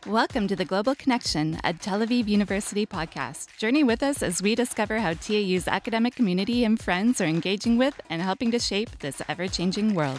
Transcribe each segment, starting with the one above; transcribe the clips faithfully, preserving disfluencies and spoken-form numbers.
Welcome to the Global Connection, a Tel Aviv University podcast. Journey with us as we discover how T A U's academic community and friends are engaging with and helping to shape this ever-changing world.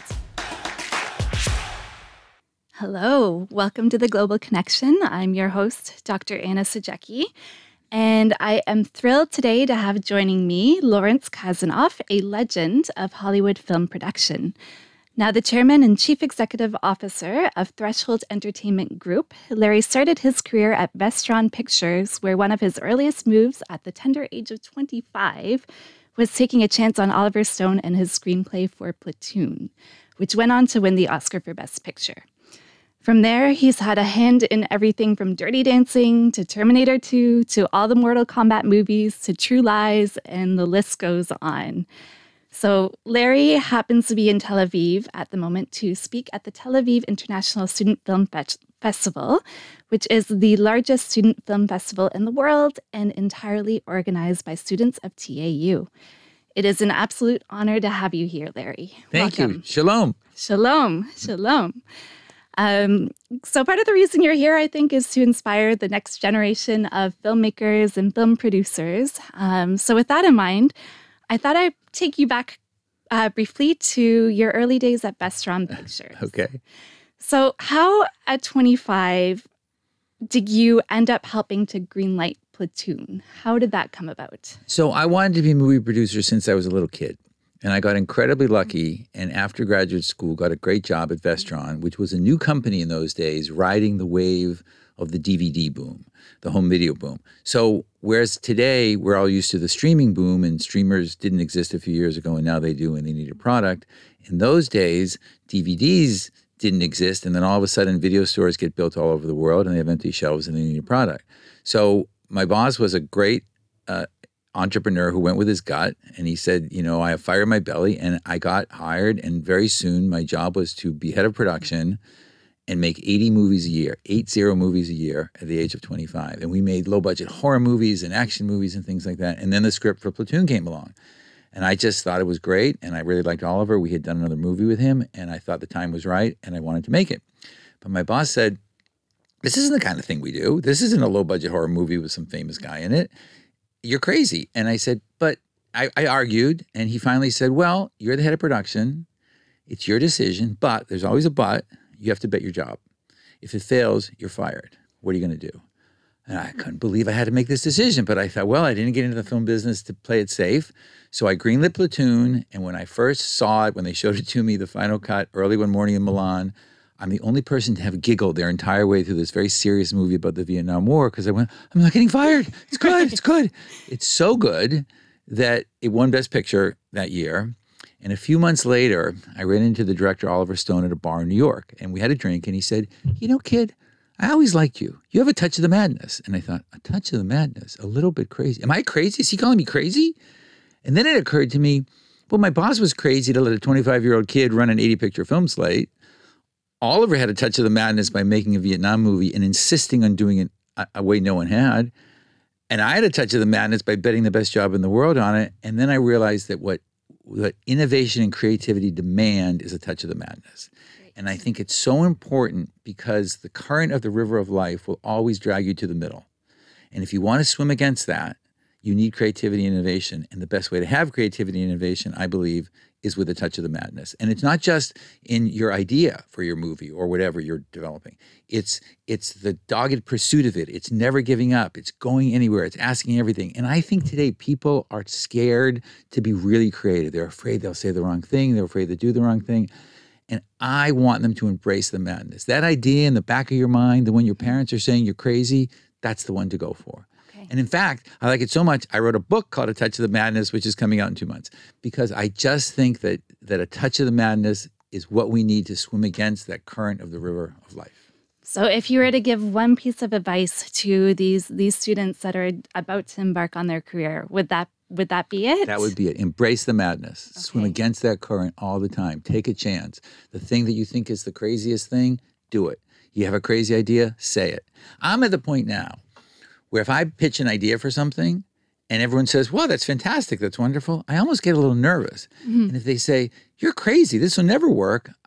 Hello, welcome to the Global Connection. I'm your host, Doctor Anna Sajecki, and I am thrilled today to have joining me Lawrence Kasanoff, a legend of Hollywood film production. Now the chairman and chief executive officer of Threshold Entertainment Group, Larry started his career at Vestron Pictures, where one of his earliest moves at the tender age of twenty-five was taking a chance on Oliver Stone and his screenplay for Platoon, which went on to win the Oscar for Best Picture. From there, he's had a hand in everything from Dirty Dancing to Terminator two to all the Mortal Kombat movies to True Lies, and the list goes on. So Larry happens to be in Tel Aviv at the moment to speak at the Tel Aviv International Student Film Fe- Festival, which is the largest student film festival in the world and entirely organized by students of T A U. It is an absolute honor to have you here, Larry. Thank Welcome. you. Shalom. Shalom. Shalom. Um, so part of the reason you're here, I think, is to inspire the next generation of filmmakers and film producers. Um, so with that in mind, I thought I'd take you back uh, briefly to your early days at Vestron Pictures. Okay. So how, at twenty-five, did you end up helping to greenlight Platoon? How did that come about? So I wanted to be a movie producer since I was a little kid. And I got incredibly lucky, and after graduate school, got a great job at Vestron, which was a new company in those days, riding the wave of the D V D boom, the home video boom. So whereas today we're all used to the streaming boom, and streamers didn't exist a few years ago, and now they do, and they need a product. In those days, D V Ds didn't exist, and then all of a sudden video stores get built all over the world, and they have empty shelves, and they need a product. So my boss was a great uh, entrepreneur who went with his gut, and he said, you know, I have fire in my belly, and I got hired, and very soon my job was to be head of production and make eighty movies a year, eight zero movies a year at the age of twenty-five. And we made low-budget horror movies and action movies and things like that. And then the script for Platoon came along. And I just thought it was great, and I really liked Oliver. We had done another movie with him, and I thought the time was right, and I wanted to make it. But my boss said, this isn't the kind of thing we do. This isn't a low-budget horror movie with some famous guy in it. You're crazy. And I said, but I, I argued, and he finally said, well, you're the head of production. It's your decision, but there's always a but. You have to bet your job. If it fails, you're fired. What are you going to do? And I couldn't believe I had to make this decision, but I thought, well, I didn't get into the film business to play it safe. So I greenlit Platoon, and when I first saw it, when they showed it to me, the final cut, early one morning in Milan, I'm the only person to have giggled their entire way through this very serious movie about the Vietnam War, because I went, I'm not getting fired. It's good. It's good. It's so good that it won Best Picture that year. And a few months later, I ran into the director, Oliver Stone, at a bar in New York, and we had a drink, and he said, you know, kid, I always liked you. You have a touch of the madness. And I thought, a touch of the madness? A little bit crazy. Am I crazy? Is he calling me crazy? And then it occurred to me, well, my boss was crazy to let a twenty-five-year-old kid run an eighty-picture film slate. Oliver had a touch of the madness by making a Vietnam movie and insisting on doing it a, a way no one had. And I had a touch of the madness by betting the best job in the world on it. And then I realized that what what innovation and creativity demand is a touch of the madness. Great. And I think it's so important because the current of the river of life will always drag you to the middle. And if you want to swim against that, you need creativity and innovation. And the best way to have creativity and innovation, I believe, is with a touch of the madness. And it's not just in your idea for your movie or whatever you're developing. It's it's the dogged pursuit of it. It's never giving up. It's going anywhere. It's asking everything. And I think today people are scared to be really creative. They're afraid they'll say the wrong thing. They're afraid to do the wrong thing. And I want them to embrace the madness. That idea in the back of your mind, the one your parents are saying you're crazy, that's the one to go for. And in fact, I like it so much, I wrote a book called A Touch of the Madness, which is coming out in two months, because I just think that that a touch of the madness is what we need to swim against that current of the river of life. So if you were to give one piece of advice to these these students that are about to embark on their career, would that would that be it? That would be it. Embrace the madness. Okay. Swim against that current all the time. Take a chance. The thing that you think is the craziest thing, do it. You have a crazy idea, say it. I'm at the point now where if I pitch an idea for something and everyone says, well, that's fantastic, that's wonderful, I almost get a little nervous. Mm-hmm. And if they say, you're crazy, this will never work,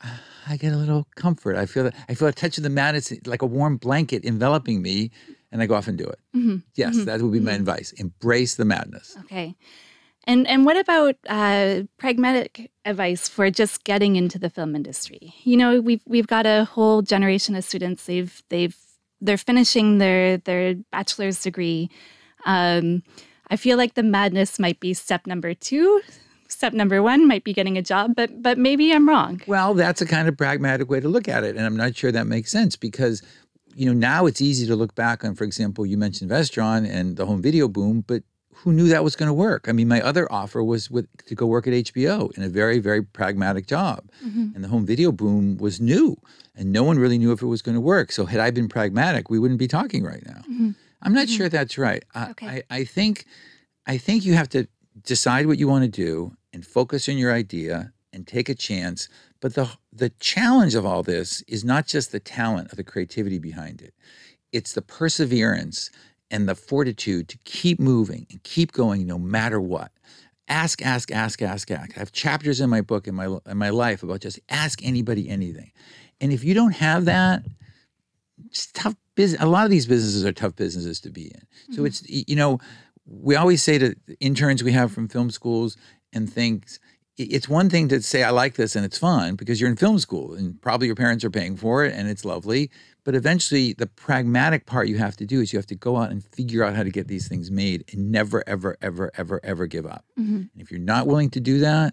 I get a little comfort. I feel that I feel a touch of the madness, like a warm blanket enveloping me, and I go off and do it. Mm-hmm. Yes, mm-hmm. that would be my mm-hmm. advice. Embrace the madness. Okay. And and what about uh, pragmatic advice for just getting into the film industry? You know, we've we've got a whole generation of students. They've they've they're finishing their their bachelor's degree. Um, I feel like the madness might be step number two. Step number one might be getting a job, but but maybe I'm wrong. Well, that's a kind of pragmatic way to look at it, and I'm not sure that makes sense because, you know, now it's easy to look back on. For example, you mentioned Vestron and the home video boom, but who knew that was going to work? I mean, my other offer was with, to go work at H B O in a very, very pragmatic job, Mm-hmm. and the home video boom was new, and no one really knew if it was going to work. So had I been pragmatic, we wouldn't be talking right now. Mm-hmm. I'm not Mm-hmm. sure that's right. I, Okay. I, I think, I think you have to decide what you want to do and focus on your idea and take a chance. But the the challenge of all this is not just the talent or the creativity behind it. It's the perseverance and the fortitude to keep moving and keep going no matter what. Ask, ask, ask, ask, ask. I have chapters in my book, in my in my life about just ask anybody anything. And if you don't have that, it's tough business. A lot of these businesses are tough businesses to be in. So Mhm. it's, you know, we always say to interns we have from film schools and things, i- it's one thing to say, I like this and it's fun because you're in film school and probably your parents are paying for it and it's lovely. But eventually the pragmatic part you have to do is you have to go out and figure out how to get these things made and never, ever, ever, ever, ever give up. Mm-hmm. And if you're not willing to do that,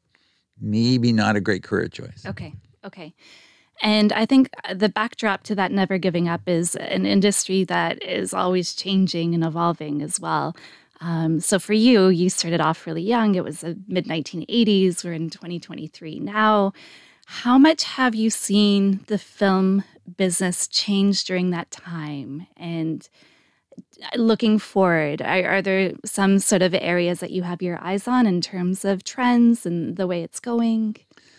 maybe not a great career choice. Okay. Okay. And I think the backdrop to that never giving up is an industry that is always changing and evolving as well. Um, so for you, you started off really young. It was the mid nineteen eighties. We're in twenty twenty-three now. How much have you seen the film business change during that time? And looking forward, are, are there some sort of areas that you have your eyes on in terms of trends and the way it's going?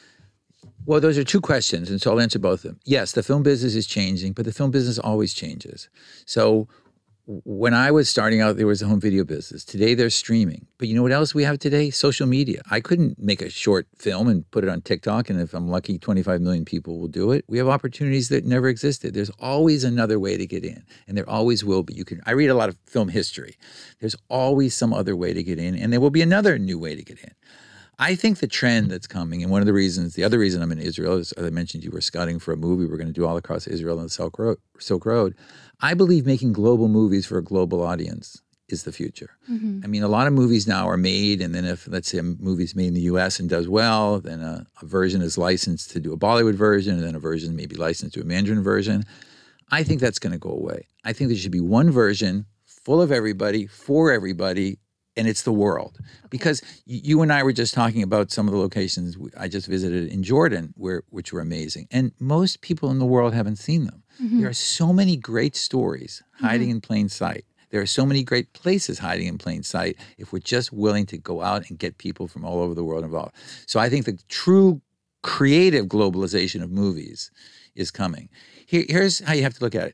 Well, those are two questions, and so I'll answer both of them. Yes, the film business is changing, but the film business always changes. So w- when I was starting out, there was a home video business. Today, there's streaming. But you know what else we have today? Social media. I couldn't make a short film and put it on TikTok, and if I'm lucky, twenty-five million people will do it. We have opportunities that never existed. There's always another way to get in, and there always will be. You can. I read a lot of film history. There's always some other way to get in, and there will be another new way to get in. I think the trend that's coming, and one of the reasons, the other reason I'm in Israel is, as I mentioned, you were scouting for a movie we're going to do all across Israel and the Silk Road. Silk Road. I believe making global movies for a global audience is the future. Mm-hmm. I mean, a lot of movies now are made, and then if, let's say, a movie's made in the U S and does well, then a, a version is licensed to do a Bollywood version, and then a version may be licensed to a Mandarin version. I think that's going to go away. I think there should be one version full of everybody, for everybody, and it's the world. Okay. Because y- you and I were just talking about some of the locations w- I just visited in Jordan, where which were amazing. And most people in the world haven't seen them. Mm-hmm. There are so many great stories hiding in plain sight. There are so many great places hiding in plain sight if we're just willing to go out and get people from all over the world involved. So I think the true creative globalization of movies is coming. Here, here's how you have to look at it.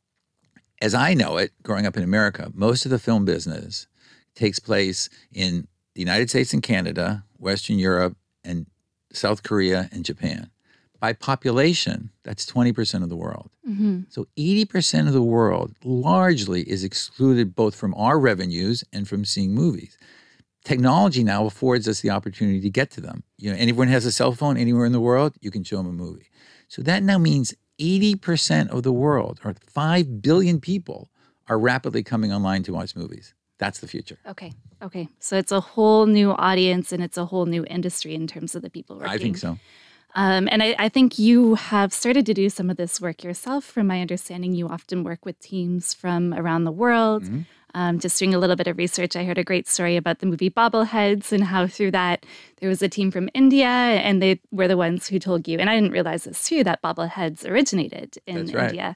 As I know it, growing up in America, most of the film business takes place in the United States and Canada, Western Europe, and South Korea and Japan. By population, that's twenty percent of the world. Mm-hmm. So eighty percent of the world largely is excluded both from our revenues and from seeing movies. Technology now affords us the opportunity to get to them. You know, anyone has a cell phone anywhere in the world, you can show them a movie. So that now means eighty percent of the world, or five billion people, are rapidly coming online to watch movies. That's the future. Okay. Okay. So it's a whole new audience and it's a whole new industry in terms of the people working. I think so. Um, and I, I think you have started to do some of this work yourself. From my understanding, you often work with teams from around the world. Mm-hmm. Um, just doing a little bit of research, I heard a great story about the movie Bobbleheads and how through that there was a team from India and they were the ones who told you, and I didn't realize this too, that Bobbleheads originated in That's right. India.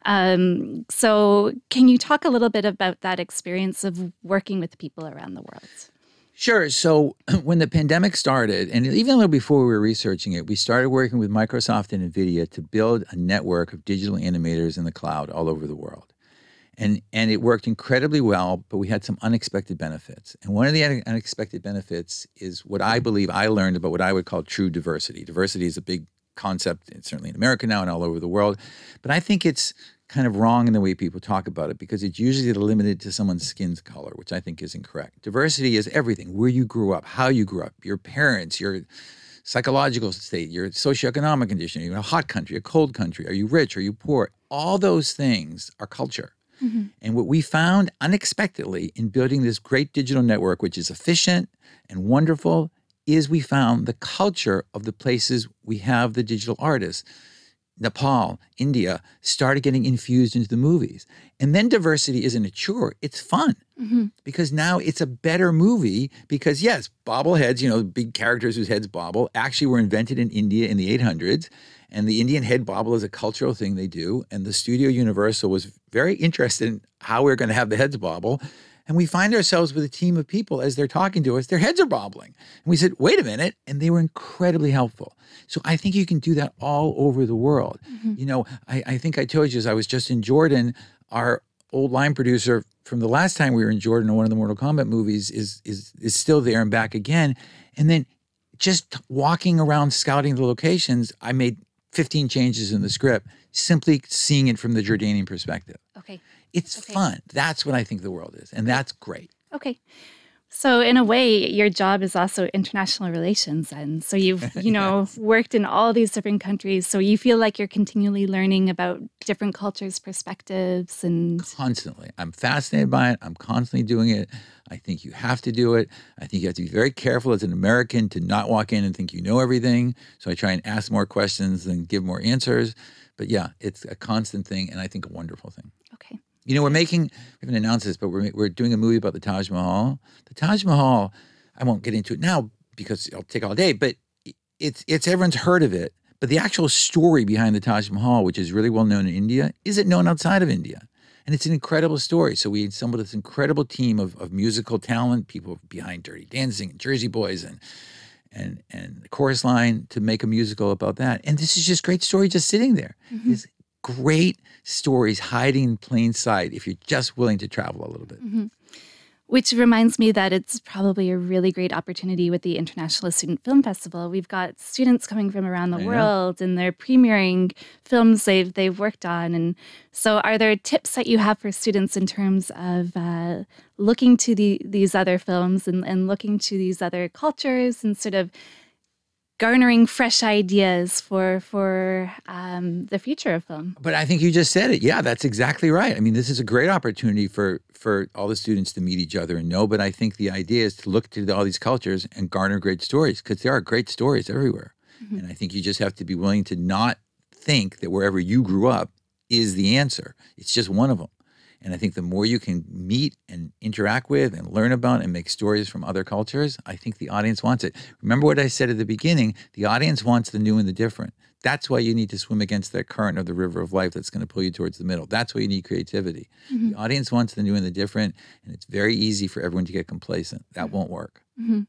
Um, so can you talk a little bit about that experience of working with people around the world? Sure. So when the pandemic started, and even a little before we were researching it, we started working with Microsoft and NVIDIA to build a network of digital animators in the cloud all over the world. And, and it worked incredibly well, but we had some unexpected benefits. And one of the un- unexpected benefits is what I believe I learned about what I would call true diversity. Diversity is a big concept, and certainly in America now and all over the world. But I think it's kind of wrong in the way people talk about it because it's usually limited to someone's skin's color, which I think is incorrect. Diversity is everything, where you grew up, how you grew up, your parents, your psychological state, your socioeconomic condition, are you in a hot country, a cold country, are you rich, are you poor? All those things are culture. Mm-hmm. And what we found unexpectedly in building this great digital network, which is efficient and wonderful, is we found the culture of the places we have the digital artists. Nepal, India, started getting infused into the movies. And then diversity isn't a chore, it's fun. Mm-hmm. Because now it's a better movie because, yes, bobbleheads, you know, big characters whose heads bobble, actually were invented in India in the eight hundreds. And the Indian head bobble is a cultural thing they do. And the studio Universal was very interested in how we're going to have the heads bobble. And we find ourselves with a team of people as they're talking to us, their heads are bobbling. And we said, wait a minute. And they were incredibly helpful. So I think you can do that all over the world. Mm-hmm. You know, I, I think I told you as I was just in Jordan, our old line producer from the last time we were in Jordan on one of the Mortal Kombat movies is, is, is still there and back again. And then just walking around scouting the locations, I made fifteen changes in the script, simply seeing it from the Jordanian perspective. Okay. It's okay. fun. That's what I think the world is. And that's great. Okay. So in a way, your job is also international relations. And so you've, you know, yes. worked in all these different countries. So you feel like you're continually learning about different cultures, perspectives, and... Constantly. I'm fascinated by it. I'm constantly doing it. I think you have to do it. I think you have to be very careful as an American to not walk in and think you know everything. So I try and ask more questions than give more answers. But yeah, it's a constant thing and I think a wonderful thing. Okay. You know, we're making, we haven't announced this, but we're, we're doing a movie about the Taj Mahal. The Taj Mahal, I won't get into it now because it'll take all day, but it's, it's everyone's heard of it. But the actual story behind the Taj Mahal, which is really well known in India, isn't known outside of India. And it's an incredible story. So we assembled this incredible team of, of musical talent, people behind Dirty Dancing and Jersey Boys and and and the Chorus Line to make a musical about that. And this is just great story just sitting there. Mm-hmm. It's great stories hiding in plain sight if you're just willing to travel a little bit. Mm-hmm. Which reminds me that it's probably a really great opportunity with the International Student Film Festival. We've got students coming from around the I world know. and they're premiering films they've, they've worked on. And so are there tips that you have for students in terms of uh, looking to the, these other films and, and looking to these other cultures and sort of garnering fresh ideas for for um, the future of film? But I think you just said it. Yeah, that's exactly right. I mean, this is a great opportunity for for all the students to meet each other and know. But I think the idea is to look to all these cultures and garner great stories because there are great stories everywhere. Mm-hmm. And I think you just have to be willing to not think that wherever you grew up is the answer. It's just one of them. And I think the more you can meet and interact with and learn about and make stories from other cultures, I think the audience wants it. Remember what I said at the beginning, the audience wants the new and the different. That's why you need to swim against that current of the river of life that's going to pull you towards the middle. That's why you need creativity. Mm-hmm. The audience wants the new and the different, and it's very easy for everyone to get complacent. That mm-hmm. won't work. Mm-hmm.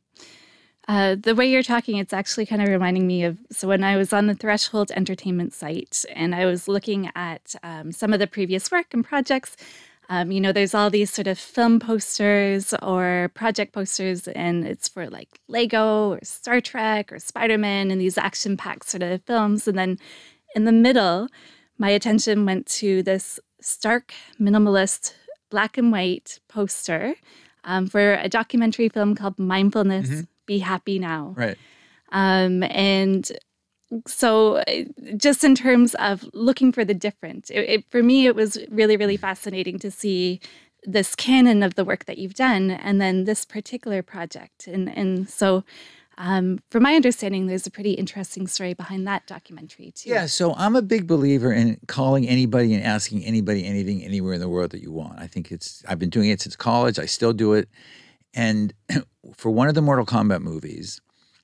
Uh, the way you're talking, it's actually kind of reminding me of, so when I was on the Threshold Entertainment site and I was looking at um, some of the previous work and projects, um, you know, there's all these sort of film posters or project posters, and it's for like Lego or Star Trek or Spider-Man and these action-packed sort of films. And then in the middle, my attention went to this stark, minimalist, black and white poster um, for a documentary film called Mindfulness. Mm-hmm. Be Happy Now. Right. Um, and so just in terms of looking for the different, it, it, for me, it was really, really fascinating to see this canon of the work that you've done and then this particular project. And, and so um, from my understanding, there's a pretty interesting story behind that documentary too. Yeah, so I'm a big believer in calling anybody and asking anybody anything anywhere in the world that you want. I think it's, I've been doing it since college. I still do it. And for one of the Mortal Kombat movies,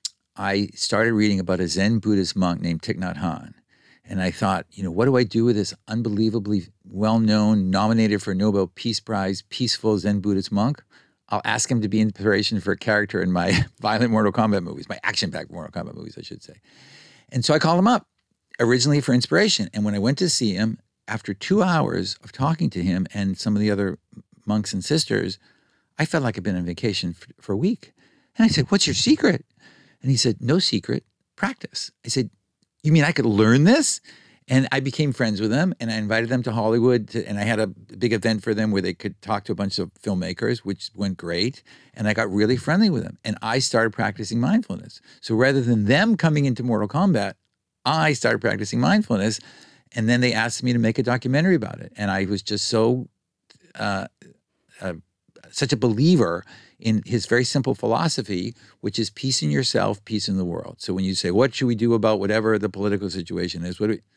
I started reading about a Zen Buddhist monk named Thich Nhat Hanh. And I thought, you know, what do I do with this unbelievably well-known, nominated for a Nobel Peace Prize, peaceful Zen Buddhist monk? I'll ask him to be inspiration for a character in my violent Mortal Kombat movies, my action-packed Mortal Kombat movies, I should say. And so I called him up, originally for inspiration. And when I went to see him, after two hours of talking to him and some of the other monks and sisters, I felt like I'd been on vacation for, for a week. And I said, what's your secret? And he said, no secret, practice. I said, you mean I could learn this? And I became friends with them, and I invited them to Hollywood, to, and I had a big event for them where they could talk to a bunch of filmmakers, which went great. And I got really friendly with them, and I started practicing mindfulness. So rather than them coming into Mortal Kombat, I started practicing mindfulness, and then they asked me to make a documentary about it. And I was just so, uh, uh, such a believer in his very simple philosophy, which is peace in yourself, peace in the world. So when you say, what should we do about whatever the political situation is, what do we,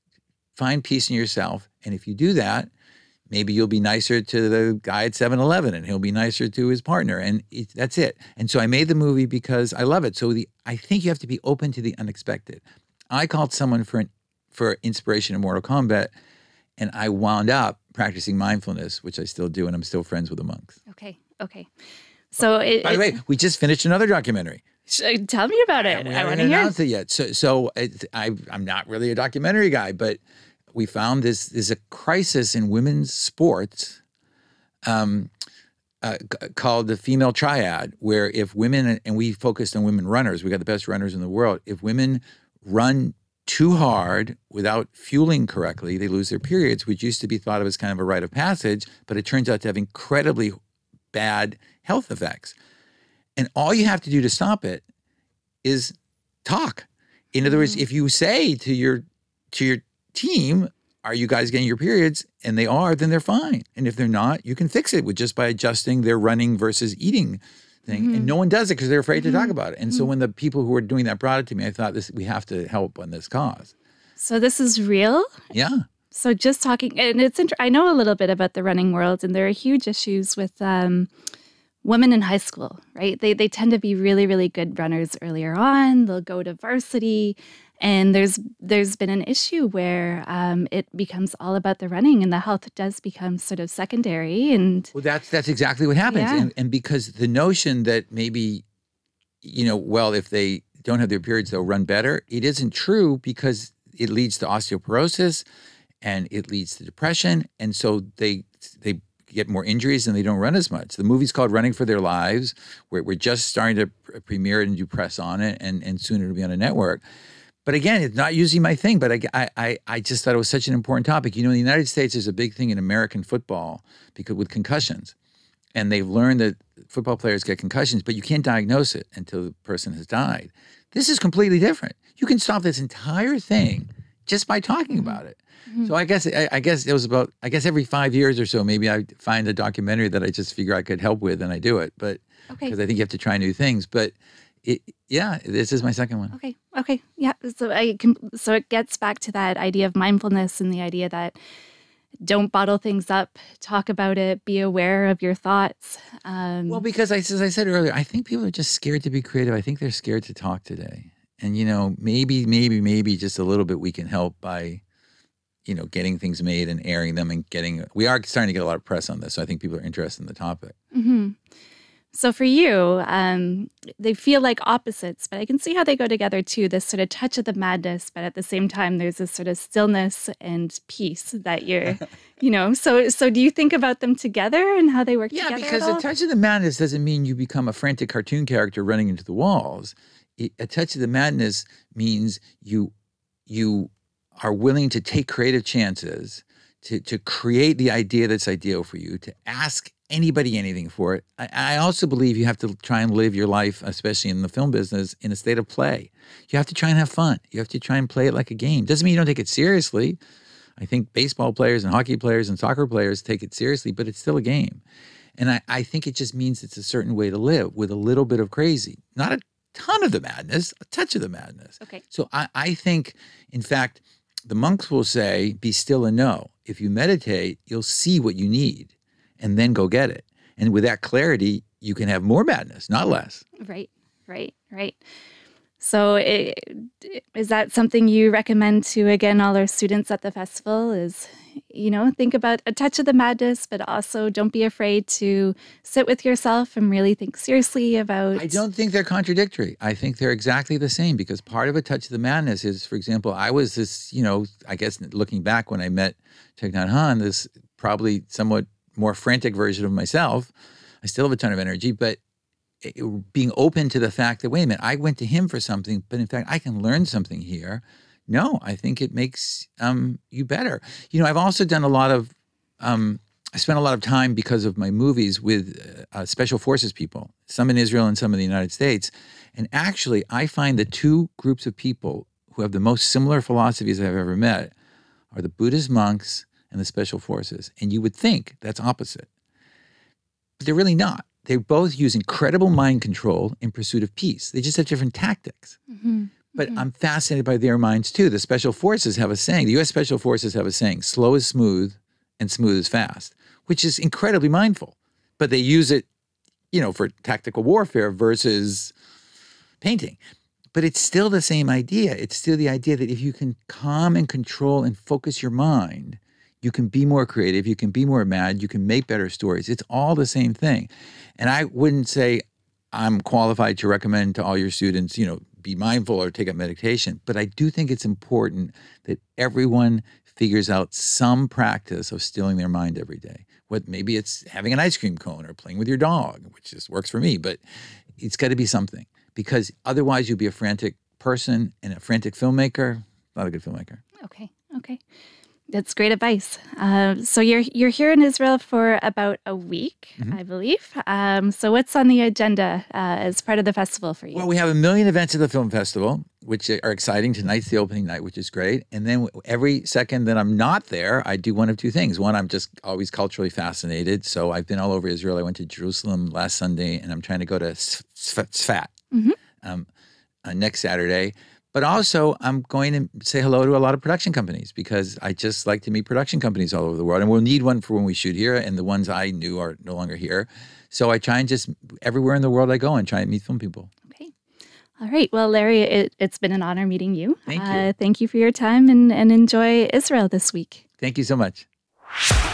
find peace in yourself. And if you do that, maybe you'll be nicer to the guy at seven eleven, and he'll be nicer to his partner. And it, that's it. And so I made the movie because I love it. So the I think you have to be open to the unexpected. I called someone for an, for inspiration in Mortal Kombat, and I wound up practicing mindfulness, which I still do, and I'm still friends with the monks. Okay, okay. So it, By the it, way, we just finished another documentary. Tell me about it. We I want haven't to hear. announced it yet. So, so it, I, I'm not really a documentary guy, but we found this there's a crisis in women's sports um, uh, c- called the female triad, where if women, and we focused on women runners, we got the best runners in the world. If women run too hard without fueling correctly, they lose their periods, which used to be thought of as kind of a rite of passage, but it turns out to have incredibly bad health effects. And all you have to do to stop it is talk. In other words, if you say to your to your team, are you guys getting your periods? And they are, then they're fine. And if they're not, you can fix it with just by adjusting their running versus eating thing. Mm-hmm. And no one does it because they're afraid mm-hmm. to talk about it. And mm-hmm. so when the people who were doing that brought it to me, I thought this we have to help on this cause. So this is real? Yeah. So just talking, and it's inter- I know a little bit about the running world, and there are huge issues with um, women in high school, right? They they tend to be really, really good runners earlier on. They'll go to varsity, and there's there's been an issue where um, it becomes all about the running, and the health does become sort of secondary. And well, that's that's exactly what happens. Yeah. And, and because the notion that maybe, you know, well, if they don't have their periods, they'll run better. It isn't true, because it leads to osteoporosis, and it leads to depression, and so they they get more injuries and they don't run as much. The movie's called Running for Their Lives. We're, we're just starting to premiere it and do press on it, and, and soon it'll be on a network. But again, it's not usually my thing, but I, I, I just thought it was such an important topic. You know, in the United States, there's a big thing in American football because with concussions. And they've learned that football players get concussions, but you can't diagnose it until the person has died. This is completely different. You can stop this entire thing just by talking about it. Mm-hmm. So I guess I, I guess it was about I guess every five years or so, maybe I find a documentary that I just figure I could help with, and I do it. But because okay. I think you have to try new things. But it, yeah, this is my second one. Okay, okay, yeah. So I can. So it gets back to that idea of mindfulness and the idea that don't bottle things up, talk about it, be aware of your thoughts. Um, well, because I, as I said earlier, I think people are just scared to be creative. I think they're scared to talk today. And you know, maybe, maybe, maybe just a little bit we can help by, you know, getting things made and airing them and getting, we are starting to get a lot of press on this. So I think people are interested in the topic. Mm-hmm. So for you, um, they feel like opposites, but I can see how they go together too, this sort of touch of the madness, but at the same time, there's this sort of stillness and peace that you're, you know, so so do you think about them together and how they work yeah, together? Yeah, because a touch of the madness doesn't mean you become a frantic cartoon character running into the walls. A touch of the madness means you you are willing to take creative chances, to to create the idea that's ideal for you, to ask anybody anything for it. I, I also believe you have to try and live your life, especially in the film business, in a state of play. You have to try and have fun. You have to try and play it like a game. Doesn't mean you don't take it seriously. I think baseball players and hockey players and soccer players take it seriously, but it's still a game. And I, I think it just means it's a certain way to live with a little bit of crazy. Not a ton of the madness, a touch of the madness. Okay. So I, I think, in fact, the monks will say, be still and know. If you meditate, you'll see what you need and then go get it. And with that clarity, you can have more madness, not less. Right, right, right. So it, is that something you recommend to, again, all our students at the festival is, you know, think about a touch of the madness, but also don't be afraid to sit with yourself and really think seriously about... I don't think they're contradictory. I think they're exactly the same, because part of a touch of the madness is, for example, I was this, you know, I guess looking back when I met Thich Nhat Hanh, this probably somewhat more frantic version of myself. I still have a ton of energy, but it, being open to the fact that, wait a minute, I went to him for something, but in fact, I can learn something here no, I think it makes um, you better. You know, I've also done a lot of, um, I spent a lot of time because of my movies with uh, special forces people, some in Israel and some in the United States. And actually, I find the two groups of people who have the most similar philosophies I've ever met are the Buddhist monks and the special forces. And you would think that's opposite. But they're really not. They both use incredible mind control in pursuit of peace. They just have different tactics. Mm-hmm. But mm-hmm. I'm fascinated by their minds too. The special forces have a saying, the U S Special Forces have a saying, slow is smooth and smooth is fast, which is incredibly mindful. But they use it, you know, for tactical warfare versus painting. But it's still the same idea. It's still the idea that if you can calm and control and focus your mind, you can be more creative, you can be more mad, you can make better stories. It's all the same thing. And I wouldn't say I'm qualified to recommend to all your students, you know, be mindful or take up meditation. But I do think it's important that everyone figures out some practice of stilling their mind every day. What maybe it's having an ice cream cone or playing with your dog, which just works for me, but it's got to be something. Because otherwise you'll be a frantic person and a frantic filmmaker, not a good filmmaker. Okay, okay. That's great advice. Uh, so you're you're here in Israel for about a week, mm-hmm. I believe. Um, so what's on the agenda uh, as part of the festival for you? Well, we have a million events at the film festival, which are exciting. Tonight's the opening night, which is great. And then every second that I'm not there, I do one of two things. One, I'm just always culturally fascinated. So I've been all over Israel. I went to Jerusalem last Sunday, and I'm trying to go to Tzfat mm-hmm. um, uh, next Saturday. But also, I'm going to say hello to a lot of production companies because I just like to meet production companies all over the world. And we'll need one for when we shoot here, and the ones I knew are no longer here. So I try and just, everywhere in the world I go and try and meet film people. Okay. All right. Well, Larry, it, it's been an honor meeting you. Thank you. Uh, thank you for your time, and, and enjoy Israel this week. Thank you so much.